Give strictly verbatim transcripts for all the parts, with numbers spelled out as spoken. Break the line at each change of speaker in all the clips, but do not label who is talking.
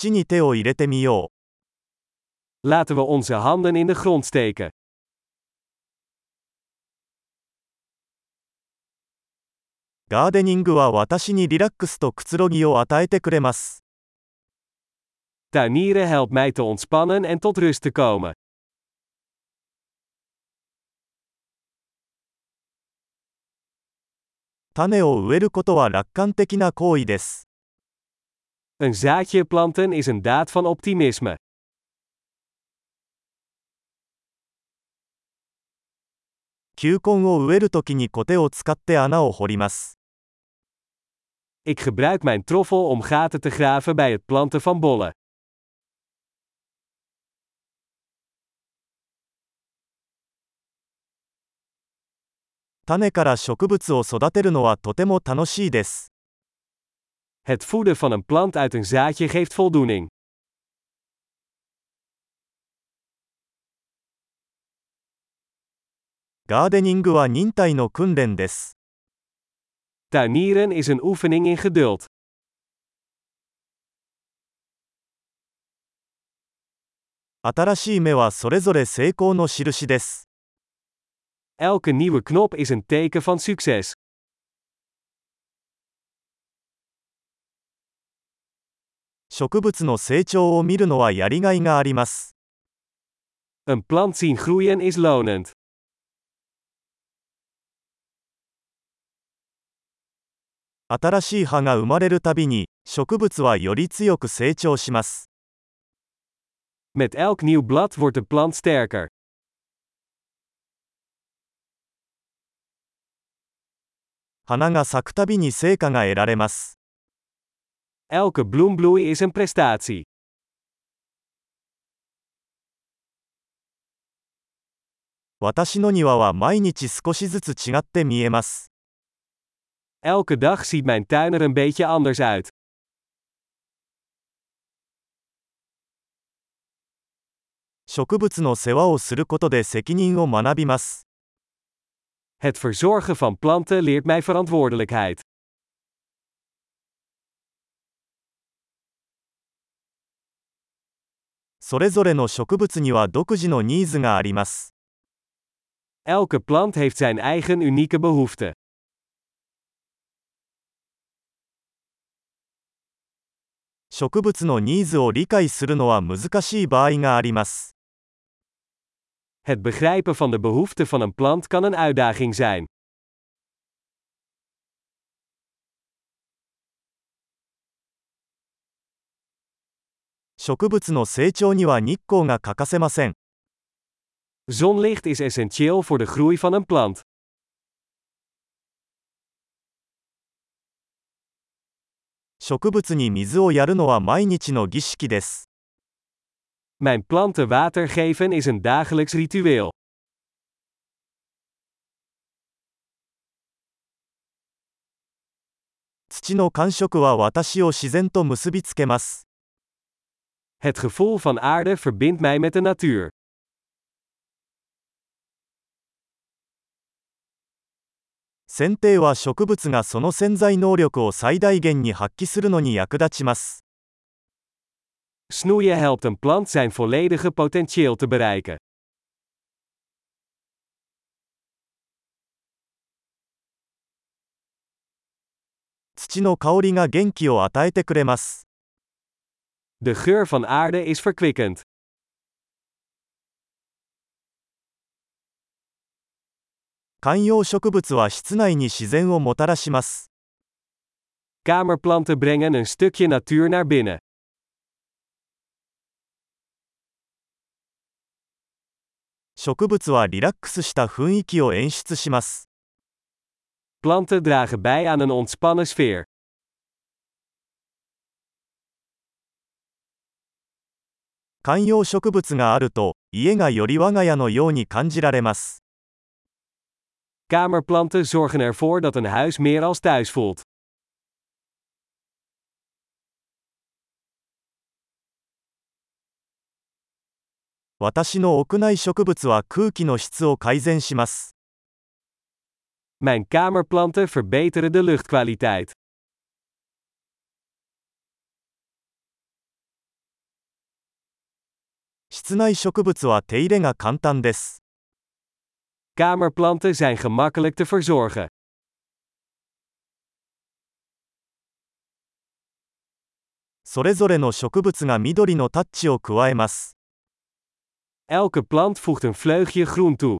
土に手を入れてみよう。
Laten we onze handen in de grond steken.
ガーデニングは私にリラックスとくつろぎを与えてくれます。
Tuinieren helpt mij te ontspannen en tot rust te komen.
種を植えることは楽観的な行為です。
Een zaadje planten is een daad van optimisme.
球根を植えるときにコテを使って穴を掘ります。
Ik gebruik mijn troffel om gaten te graven bij het planten van bollen.
種から植物を育てるのはとても楽しいです。
Het voeden van een plant uit een zaadje geeft voldoening.
ガーデニングは忍耐の訓練です。
Tuinieren is een oefening in geduld.
新しい芽はそれぞれ成功の印です。
Elke nieuwe knop is een teken van succes.
植物の成長を見るのはやりがいがあります。
Een plant zien groeien is lonend.
新しい葉が生まれるたびに、植物はより強く成長します。
Met elk nieuw blad wordt de plant sterker.
花が咲くたびに成果が得られます。
Elke bloembloei is een prestatie.
私の庭は毎日少しずつ違って見えます。
Elke dag ziet mijn tuin er een beetje anders uit.
植物の世話をすることで責任を学びます。
Het verzorgen van planten leert mij verantwoordelijkheid.
それぞれの植物には独自のニーズがあります。
Elke plant heeft zijn eigen unieke behoefte.
植物のニーズを理解するのは難しい場合があります。
Het begrijpen van de behoeften van een plant kan een uitdaging zijn.
植物の成長には日光が欠かせません。
Zonlicht is essentieel voor de groei van een plant.
植物に水をやるのは毎日の儀式です。
Mijn planten water geven is een dagelijks ritueel.
土の感触は私を自然と結びつけます。
Het gevoel van aarde verbindt mij met de natuur.
剪定は植物がその潜在能力を最大限に発揮するのに役立ちます。
Snoeien helpt een plant zijn volledige potentieel te bereiken.
土の香りが元気を与えてくれます。
De geur van aarde is verkwikkend.
観葉植物は室内に自然をもたらします。
Kamerplanten brengen een stukje natuur naar binnen.
植物はリラックスした雰囲気を演出します。
Planten dragen bij aan een ontspannen sfeer.
観葉植物があると、家がより我が家のように感じられます。
Kamerplanten zorgen ervoor dat een huis meer als thuis voelt.
私の屋内植物は空気の質を改善します。
Mijn kamerplanten verbeteren de luchtkwaliteit.
室内植物は手入れが簡単です。
Kamerplanten zijn gemakkelijk te verzorgen.
それぞれの植物が緑のタッチを加えます。
Elke plant voegt een vleugje groen toe.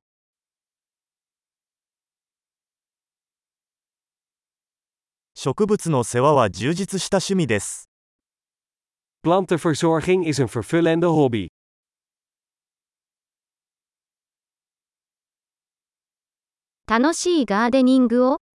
植物の世話は充実した趣味です。
Plantenverzorging is een vervullende hobby.
楽しいガーデニングを